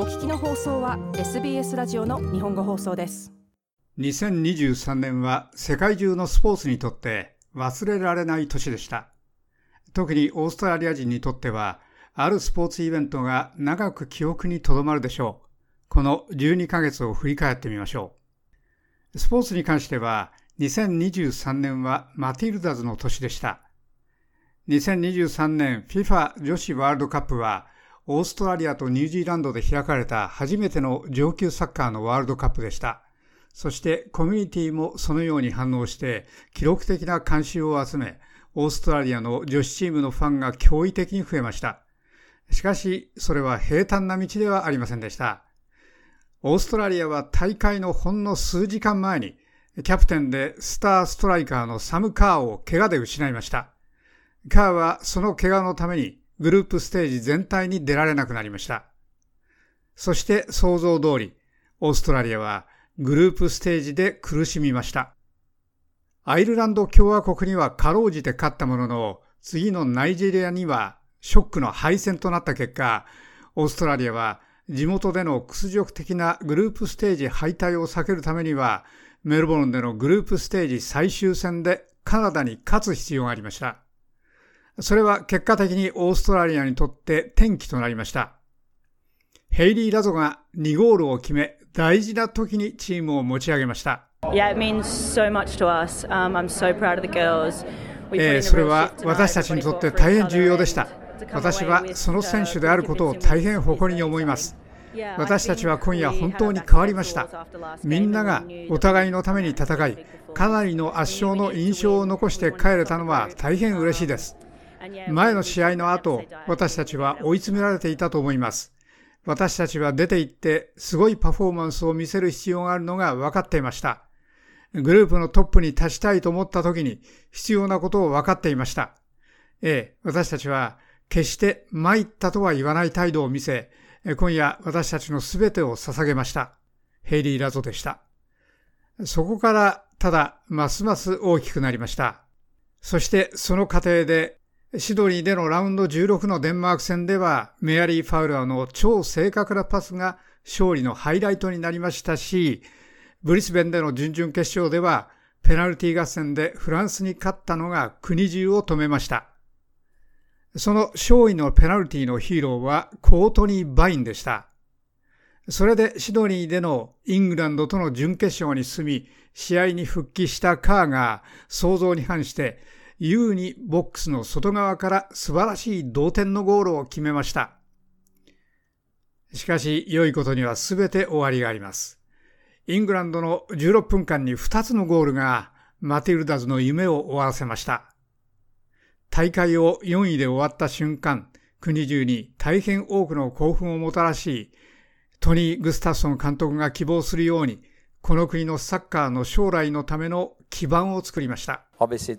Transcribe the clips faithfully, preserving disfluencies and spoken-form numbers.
聞きの放送は エスビーエス ラジオの日本語放送です。 にせんにじゅうさんねんは世界中のスポーツにとって忘れられない年でした。特にオーストラリア人にとっては、あるスポーツイベントが長く記憶にとどまるでしょう。このじゅうにかげつを振り返ってみましょう。スポーツに関しては、にせんにじゅうさんねんはマティルダズの年でした。にせんにじゅうさんねん フィファ 女子ワールドカップは、オーストラリアとニュージーランドで開かれた初めての上級サッカーのワールドカップでした。そしてコミュニティもそのように反応して記録的な関心を集め、オーストラリアの女子チームのファンが驚異的に増えました。しかし、それは平坦な道ではありませんでした。オーストラリアは大会のほんの数時間前に、キャプテンでスターストライカーのサム・カーを怪我で失いました。カーはその怪我のためにグループステージ全体に出られなくなりました。そして想像通り、オーストラリアはグループステージで苦しみました。アイルランド共和国にはかろうじて勝ったものの、次のナイジェリアにはショックの敗戦となった結果、オーストラリアは地元での屈辱的なグループステージ敗退を避けるためには、メルボルンでのグループステージ最終戦でカナダに勝つ必要がありました。それは結果的にオーストラリアにとって転機となりました。ヘイリー・ラゾがにゴールを決め、大事な時にチームを持ち上げました。 Yeah, it means so much to us. Um, I'm so proud of the girls. えー、それは私たちにとって大変重要でした。私はその選手であることを大変誇りに思います。私たちは今夜本当に変わりました。みんながお互いのために戦い、かなりの圧勝の印象を残して帰れたのは大変嬉しいです。前の試合の後、私たちは追い詰められていたと思います。私たちは出て行ってすごいパフォーマンスを見せる必要があるのが分かっていました。グループのトップに立ちたいと思った時に必要なことを分かっていました。ええ、私たちは決して参ったとは言わない態度を見せ、今夜私たちのすべてを捧げました。ヘイリー・ラゾでした。そこからただますます大きくなりました。そしてその過程でシドニーでのラウンドじゅうろくのデンマーク戦ではメアリー・ファウラーの超正確なパスが勝利のハイライトになりましたし、ブリスベンでの準々決勝ではペナルティ合戦でフランスに勝ったのが国中を止めました。その勝利のペナルティのヒーローはコートニー・バインでした。それでシドニーでのイングランドとの準決勝に進み、試合に復帰したカーが想像に反して優にボックスの外側から素晴らしい同点のゴールを決めました。しかし良いことには全て終わりがあります。イングランドのじゅうろっぷんかんにふたつのゴールがマティルダズの夢を終わらせました。大会をよんいで終わった瞬間、国中に大変多くの興奮をもたらし、トニー・グスタフソン監督が希望するように、この国のサッカーの将来のための基盤を作りました。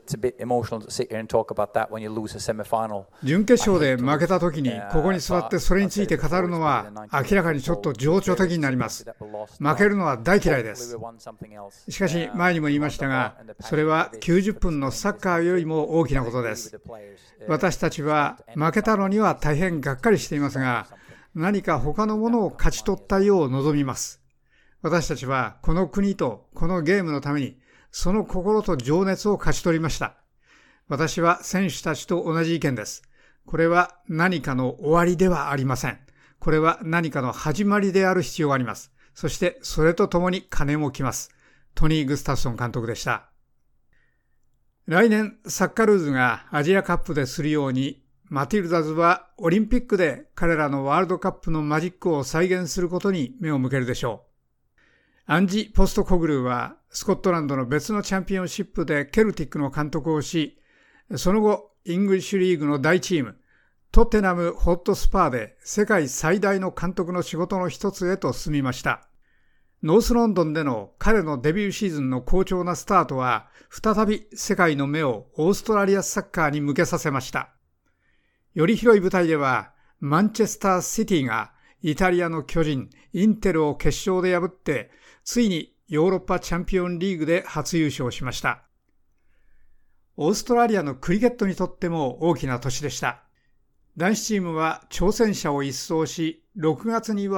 準決勝で負けた時にここに座ってそれについて語るのは明らかにちょっと情緒的になります。負けるのは大嫌いです。しかし前にも言いましたが、それはきゅうじゅっぷんのサッカーよりも大きなことです。私たちは負けたのには大変がっかりしていますが、何か他のものを勝ち取ったよう望みます。私たちはこの国とこのゲームのためにその心と情熱を勝ち取りました。私は選手たちと同じ意見です。これは何かの終わりではありません。これは何かの始まりである必要があります。そしてそれとともに金も来ます。トニー・グスタフソン監督でした。来年サッカルーズがアジアカップでするように、マティルダズはオリンピックで彼らのワールドカップのマジックを再現することに目を向けるでしょう。アンジ・ポストコグルーはスコットランドの別のチャンピオンシップでケルティックの監督をし、その後イングリッシュリーグの大チームトッテナム・ホットスパーで世界最大の監督の仕事の一つへと進みました。ノースロンドンでの彼のデビューシーズンの好調なスタートは再び世界の目をオーストラリアサッカーに向けさせました。より広い舞台ではマンチェスターシティがイタリアの巨人インテルを決勝で破ってついにヨーロッパチャンピオンリーグで初優勝しました。オーストラリアのクリケットにとっても大きな年でした。男子チームは挑戦者を一掃し、ろくがつには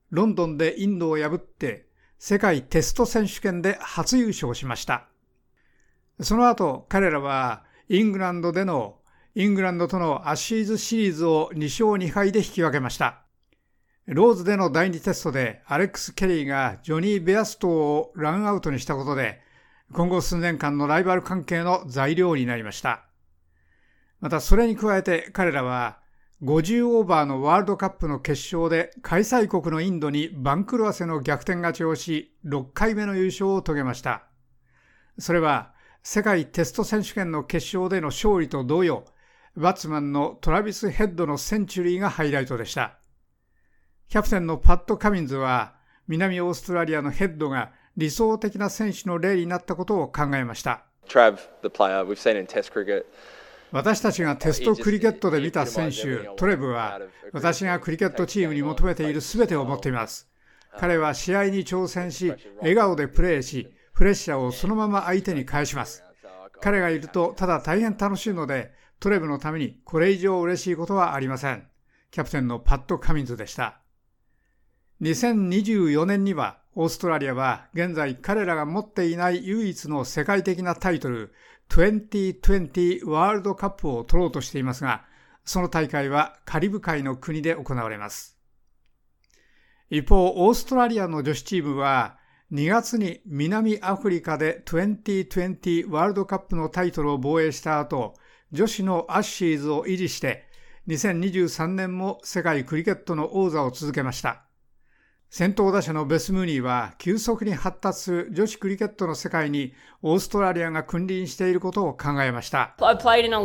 ロンドンでインドを破って世界テスト選手権で初優勝しました。その後、彼らはイングランドでのイングランドとのアッシーズシリーズをにしょうにはいで引き分けました。ローズでのだいにテストでアレックス・ケリーがジョニー・ベアストーをランアウトにしたことで、今後数年間のライバル関係の材料になりました。またそれに加えて彼らはごじゅうオーバーのワールドカップの決勝で開催国のインドに番狂わせの逆転勝ちをし、ろっかいめの優勝を遂げました。それは世界テスト選手権の決勝での勝利と同様、バッツマンのトラビス・ヘッドのセンチュリーがハイライトでした。キャプテンのパット・カミンズは、南オーストラリアのヘッドが理想的な選手の例になったことを考えました。 Trav, the player we've seen in Test cricket. 私たちがテストクリケットで見た選手、トレブは、私がクリケットチームに求めているすべてを持っています。彼は試合に挑戦し、笑顔でプレーし、プレッシャーをそのまま相手に返します。彼がいるとただ大変楽しいので、トレブのためにこれ以上嬉しいことはありません。キャプテンのパット・カミンズでした。にせんにじゅうよねんには、オーストラリアは現在彼らが持っていない唯一の世界的なタイトル、にせんにじゅうワールドカップを取ろうとしていますが、その大会はカリブ海の国で行われます。一方、オーストラリアの女子チームは、にがつに南アフリカでにせんにじゅうワールドカップのタイトルを防衛した後、女子のアッシーズを維持して、にせんにじゅうさんねんも世界クリケットの王座を続けました。先頭打者のベス・ムーニーは急速に発達する女子クリケットの世界にオーストラリアが君臨していることを考えました。私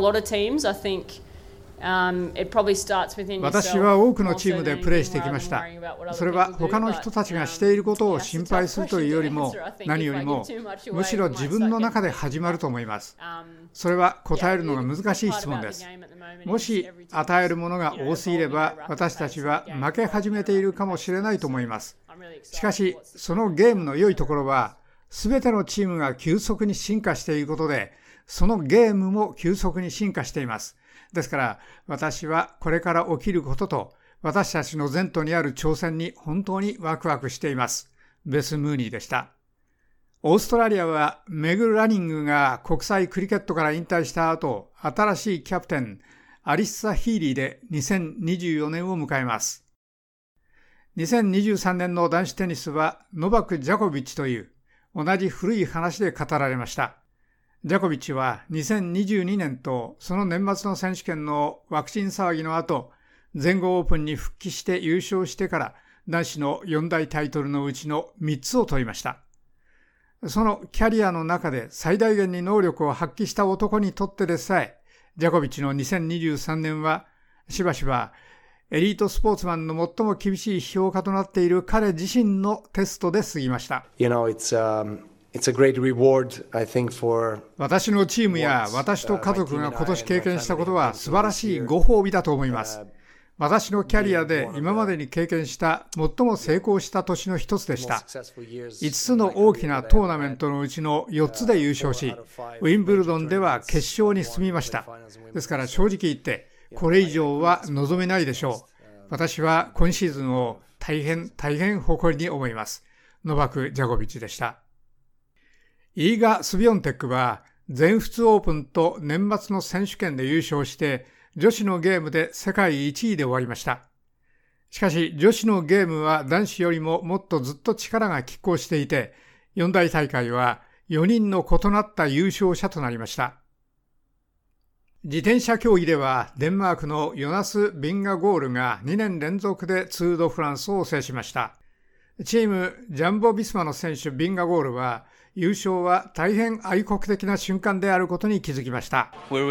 は多くのチームでプレーしてきました。それは他の人たちがしていることを心配するというよりも、何よりもむしろ自分の中で始まると思います。それは答えるのが難しい質問です。もし与えるものが多すぎれば、私たちは負け始めているかもしれないと思います。しかし、そのゲームの良いところは、すべてのチームが急速に進化していることで、そのゲームも急速に進化しています。ですから、私はこれから起きることと、私たちの前途にある挑戦に本当にワクワクしています。ベス・ムーニーでした。オーストラリアはメグ・ラニングが国際クリケットから引退した後、新しいキャプテン、アリッサ・ヒーリーでにせんにじゅうよねんを迎えます。にせんにじゅうさんねんの男子テニスはノバク・ジャコビッチという同じ古い話で語られました。ジャコビッチはにせんにじゅうにねんとその年末の選手権のワクチン騒ぎの後、全豪オープンに復帰して優勝してから男子のよん大タイトルのうちのみっつを取りました。そのキャリアの中で最大限に能力を発揮した男にとってでさえ、ジャコビッチのにせんにじゅうさんねんはしばしばエリートスポーツマンの最も厳しい評価となっている彼自身のテストで過ぎました。 You know, it's, um... It's a great reward, I think, for 私のチームや私と家族が今年経験したことは素晴らしいご褒美だと思います。私のキャリアで今までに経験した最も成功した年の一つでした。いつつの大きなトーナメントのうちのよっつで優勝し、ウィンブルドンでは決勝に進みました。ですから正直言ってこれ以上は望めないでしょう。私は今シーズンを大変大変誇りに思います。ノバク・ジャコビッチでした。イーガ・スビョンテックは全仏オープンと年末の選手権で優勝して女子のゲームで世界いちいで終わりました。しかし女子のゲームは男子よりももっとずっと力が拮抗していて、よん大大会はよにんの異なった優勝者となりました。自転車競技ではデンマークのヨナス・ビンガゴールがにねん連続でツール・ド・フランスを制しました。チームジャンボ・ビスマの選手ビンガゴールは優勝は大変愛国的な瞬間であることに気づきました。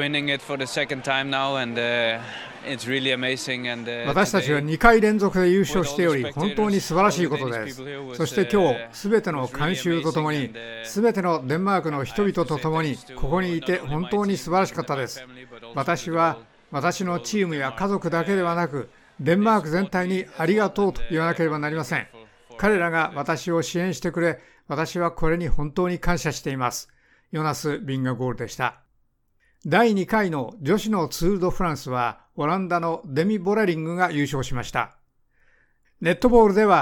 私たちはにかい連続で優勝しており、本当に素晴らしいことです。そして今日、すべての観衆とともに、すべてのデンマークの人々とともに、ここにいて本当に素晴らしかったです。私は私のチームや家族だけではなく、デンマーク全体にありがとうと言わなければなりません。彼らが私を支援してくれ、私はこれに本当に感謝しています。ヨナス・ビンガゴールでした。だいにかいの女子のツール・ド・フランスはオランダのデミ・ボレリングが優勝しました。ネットボールでは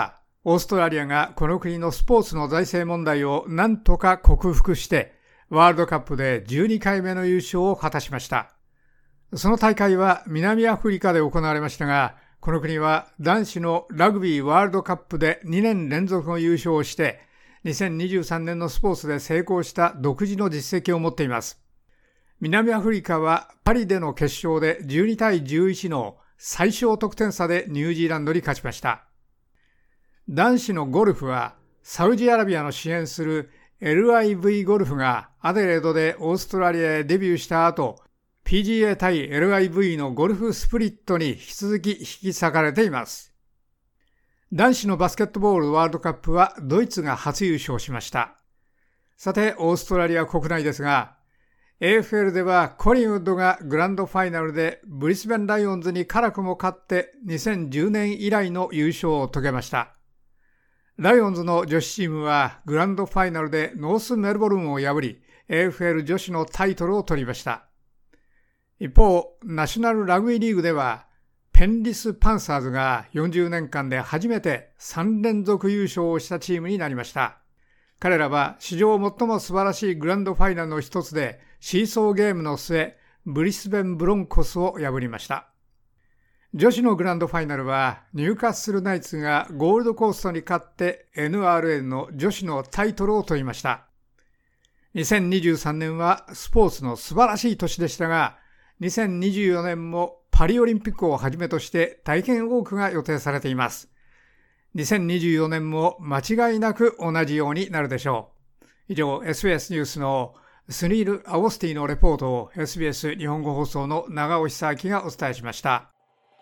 オーストラリアがこの国のスポーツの財政問題を何とか克服して、ワールドカップでじゅうにかいめの優勝を果たしました。その大会は南アフリカで行われましたが、この国は男子のラグビーワールドカップでにねん連続の優勝をして、にせんにじゅうさんねんのスポーツで成功した独自の実績を持っています。南アフリカはパリでの決勝でじゅうにたいじゅういちの最小得点差でニュージーランドに勝ちました。男子のゴルフはサウジアラビアの支援する エルアイブイ ゴルフがアデレードでオーストラリアへデビューした後、ピージーエー 対 エルアイブイ のゴルフスプリットに引き続き引き裂かれています。男子のバスケットボールワールドカップはドイツが初優勝しました。さて、オーストラリア国内ですが、エーエフエル ではコリンウッドがグランドファイナルでブリスベンライオンズに辛くも勝ってにせんじゅうねん以来の優勝を遂げました。ライオンズの女子チームはグランドファイナルでノースメルボルンを破り エーエフエル 女子のタイトルを取りました。一方、ナショナルラグビーリーグではペンリスパンサーズがよんじゅうねんかんで初めてさんれんぞく優勝をしたチームになりました。彼らは史上最も素晴らしいグランドファイナルの一つでシーソーゲームの末、ブリスベンブロンコスを破りました。女子のグランドファイナルはニューカッスルナイツがゴールドコーストに勝って エヌアールエル の女子のタイトルを取りました。にせんにじゅうさんねんはスポーツの素晴らしい年でしたが、にせんにじゅうよねんもパリオリンピックをはじめとして大変多くが予定されています。にせんにじゅうよねんも間違いなく同じようになるでしょう。以上、エスビーエス ニュースのスニール・アゴスティのレポートを エスビーエス 日本語放送の長尾久明がお伝えしました。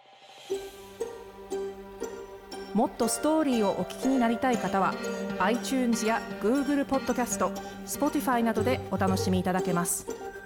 もっとストーリーをお聞きになりたい方は iTunes や Google ポッドキャスト、Spotify などでお楽しみいただけます。